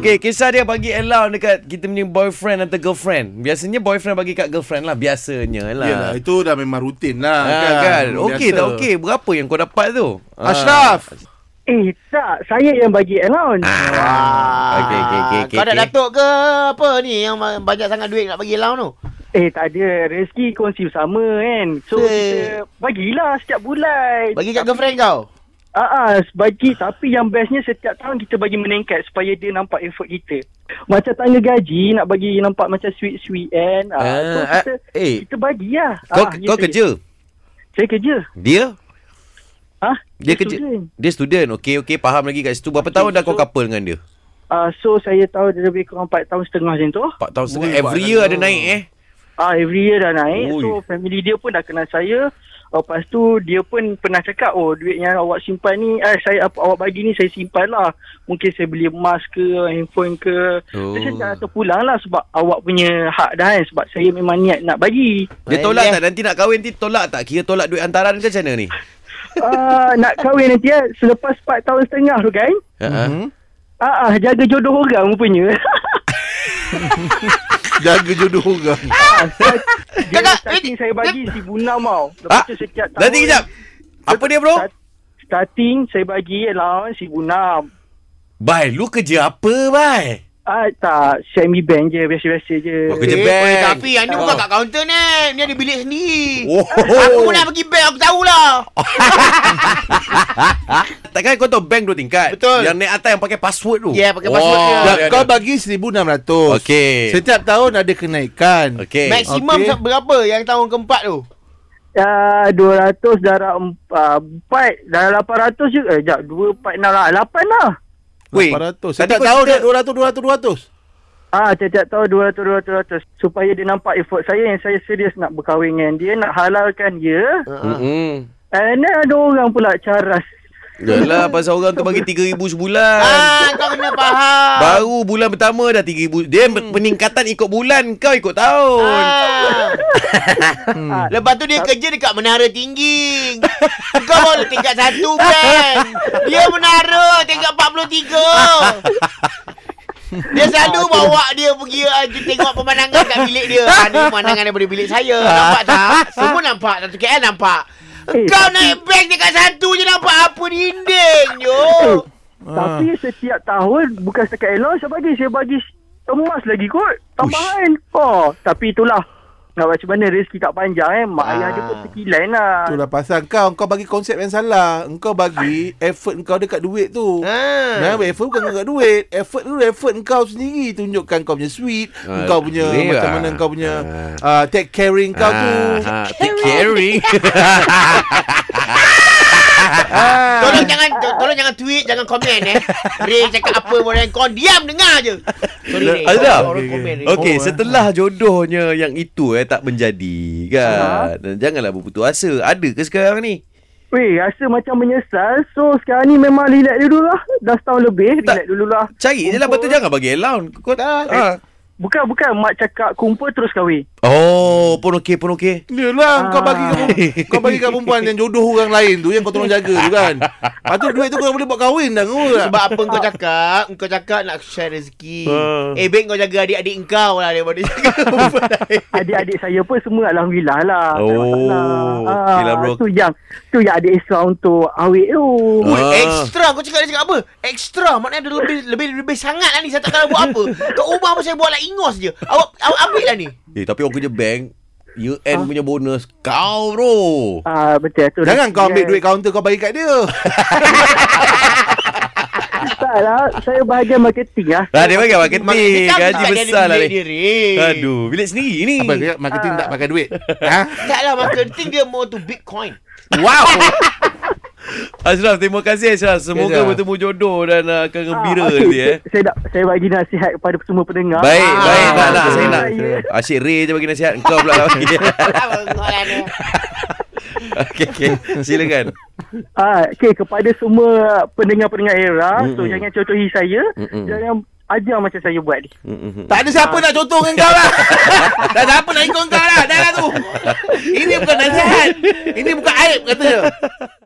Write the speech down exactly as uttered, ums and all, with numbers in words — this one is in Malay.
Okey, kisah dia bagi allowance dekat kita punya boyfriend atau girlfriend. Biasanya boyfriend bagi kat girlfriend lah. Biasanya lah. Yalah, itu dah memang rutin lah. Ha, kan, kan? Okey biasa. tak okey? Berapa yang kau dapat tu? Ashraf. Eh, tak. Saya yang bagi allowance. Ah. Okey, okey, okey. Kau dah datuk ke apa ni yang banyak sangat duit nak bagi allowance tu? Eh, tak ada. Rezeki kongsi bersama kan. So, Eh. kita bagilah setiap bulan. Bagi kat girlfriend kau? Ah, ah, bagi. Tapi yang bestnya setiap tahun kita bagi meningkat supaya dia nampak effort kita. Macam tangga gaji, nak bagi nampak macam sweet-sweet kan. Ah, Ah, so ah, kita, eh. kita bagilah. Kau Ah, kau ya, kerja? Saya, saya kerja. Dia? Ah, Dia kerja. student. Dia student. Okey, okey, faham lagi kat situ. Berapa Okey, tahun dah kau so- couple dengan dia? Ah, so saya tahu dia lebih kurang empat tahun setengah macam tu. empat tahun setengah. Ui, Every buat year dah ada tu. naik eh. Ah, every year dah naik. Ui. So, family dia pun dah kenal saya. Oh, lepas tu, dia pun pernah cakap, oh, duit yang awak simpan ni, eh, saya apa awak bagi ni, saya simpan lah. Mungkin saya beli emas ke, handphone ke. Oh. Saya cakap terpulang lah sebab awak punya hak dah kan. Sebab saya memang niat nak bagi. Dia tolak tak? Nanti nak kahwin nanti tolak tak? Kira tolak duit hantaran ke macam mana ni? uh, nak kahwin nanti ya, selepas empat tahun setengah tu kan. Ha. Mhm. Ah, ah, jaga jodoh orang rupanya. Jaga jodoh orang. ah, start, dia Kakak, starting eh, saya bagi seribu enam tau. Ah, Lepas tu setiap tahun. nanti kejap. Apa dia bro? Start, starting saya bagi allowance seribu enam. Bai, lu kerja apa bai? Ah, tak, C M E Bank je, biasa-biasa je. Oh, kerja Eh, bank. oi, tapi yang ni Oh. bukan kat kaunter ni. Ni ada bilik sendiri. Oh. Aku pun nak pergi bank, aku tahulah. Takkan kau tahu bank dua tingkat? Betul. Yang naik atas yang pakai password tu. Ya, pakai password dia. Dan dia kau ada. bagi seribu enam ratus. Okey. Setiap tahun ada kenaikan. Okey. Maksimum Okey. berapa yang tahun keempat tu? Ah, dua ratus darab empat, darab lapan ratus juga. Eh, sekejap, dua, empat, enam lah. lapan lah. Weh, lapan ratus. tadi Setiap kau tahun cerita- dia dua ratus, dua ratus, dua ratus. Ah, tiap-tiap tahun dua ratus, dua ratus, dua ratus. Supaya dia nampak effort saya yang saya serius nak berkahwin dengan dia, nak halalkan dia. Hmm. And then ada orang pula caras. Yalah, pasal orang tu bagi tiga ribu sebulan. Ah, kau kena faham. Baru bulan pertama dah tiga ribu. Dia hmm. peningkatan ikut bulan, kau ikut tahun. Ah. Ah, Lepas tu dia kerja dekat Menara Tinggi. Kau baru tingkat satu kan. Dia menara tingkat empat puluh tiga. Dia selalu bawa dia pergi uh, tengok pemandangan kat bilik dia. Ah, ni pemandangan daripada bilik saya. Nampak tak? Semua nampak. Satu K L nampak. Eh, Kau tapi- naik bank dekat satu je nampak apa dinding je. Eh, tapi setiap tahun bukan setakat allowance saya bagi, saya bagi emas lagi kot. Tambahan. Oh, tapi itulah. Nak macam mana rezeki tak panjang eh. Mak Ah. ayah dia pun terkilan lah. Itulah pasal kau Kau bagi konsep yang salah. Engkau bagi effort kau dekat duit tu. Ha. Nah, effort bukan dekat duit. Effort tu effort kau sendiri. Tunjukkan kau punya sweet. Ah, Kau punya boleh macam lah. mana kau punya Ah. uh, take caring kau tu. Ah, ah, take caring. Tolong jangan to- tolong jangan tweet, jangan komen eh. Ray cakap apa boleh kau diam dengar je. Sorry Ray. Ada? Orang Okey, komen Ray. Okey, Oh, eh. setelah jodohnya yang itu eh tak menjadi kan. Dan janganlah berputus asa. Ada ke sekarang ni? Weh, rasa macam menyesal. So, sekarang ni memang relax dulu lah. Dah setahun lebih, Tak. relax dulu lah. Cari je lah, betul, jangan bagi allowance. Kau Tak. ha. Bukan, bukan. Mak cakap kumpul terus kahwin. Oh, pun okey, pun okey. Yalah, kau bagi kat, kau bagi kat perempuan yang jodoh orang lain tu, yang kau tolong jaga tu kan. Lepas tu duit tu kau boleh buat kahwin dah kau. Sebab apa kau cakap? Kau cakap nak share rezeki. Ah. Eh, baik kau jaga adik-adik kau lah daripada jaga perempuan lain. Adik-adik saya pun semua alhamdulillah lah. Tak ada Oh, masalah. okey lah, bro. Tu yang, tu yang ada extra untuk awet tu. Ui, Ah. extra. Kau cakap dia cakap apa? Extra. Maknanya ada lebih lebih lebih sangat lah ni. Saya tak tahu buat apa. Kat rumah pun saya buat lah ingos je. Awak awak ambil lah ni. Eh, tapi orang kerja bank, year end punya bonus kau bro. Ah, betul tu. Jangan kau ambil duit kaunter kau bagi kat dia. Tak lah, saya bahagian marketing lah. Ah, dia bagi marketing, Dia kan gaji tak ada besar lah bilik ni. dia, Ray. Aduh, bilik sendiri ni. Apa dia marketing tak pakai duit? Ha? Tak lah, marketing dia more to Bitcoin. Wow. Ashraf, terima kasih Ashraf. Semoga Ashraf. bertemu jodoh dan uh, akan gembira Ah, okey. nanti eh. Saya nak saya bagi nasihat kepada semua pendengar. Baik, Ah, baik, nak nak betul. saya nak. Ya. Asyik Ray je bagi nasihat, engkau pula tak bagi. Bengok lah ni. Okey, okey. Silakan. Ah, okay, kepada semua pendengar-pendengar era, Mm-mm. so jangan contohi saya, Mm-mm. jangan ajar macam saya buat ni. Mm-mm. Tak ada siapa nak contoh dengan kau lah. Tak ada siapa nak ikut kau lah. Dah lah tu. Ini bukan nasihat. Ini bukan aib kata dia.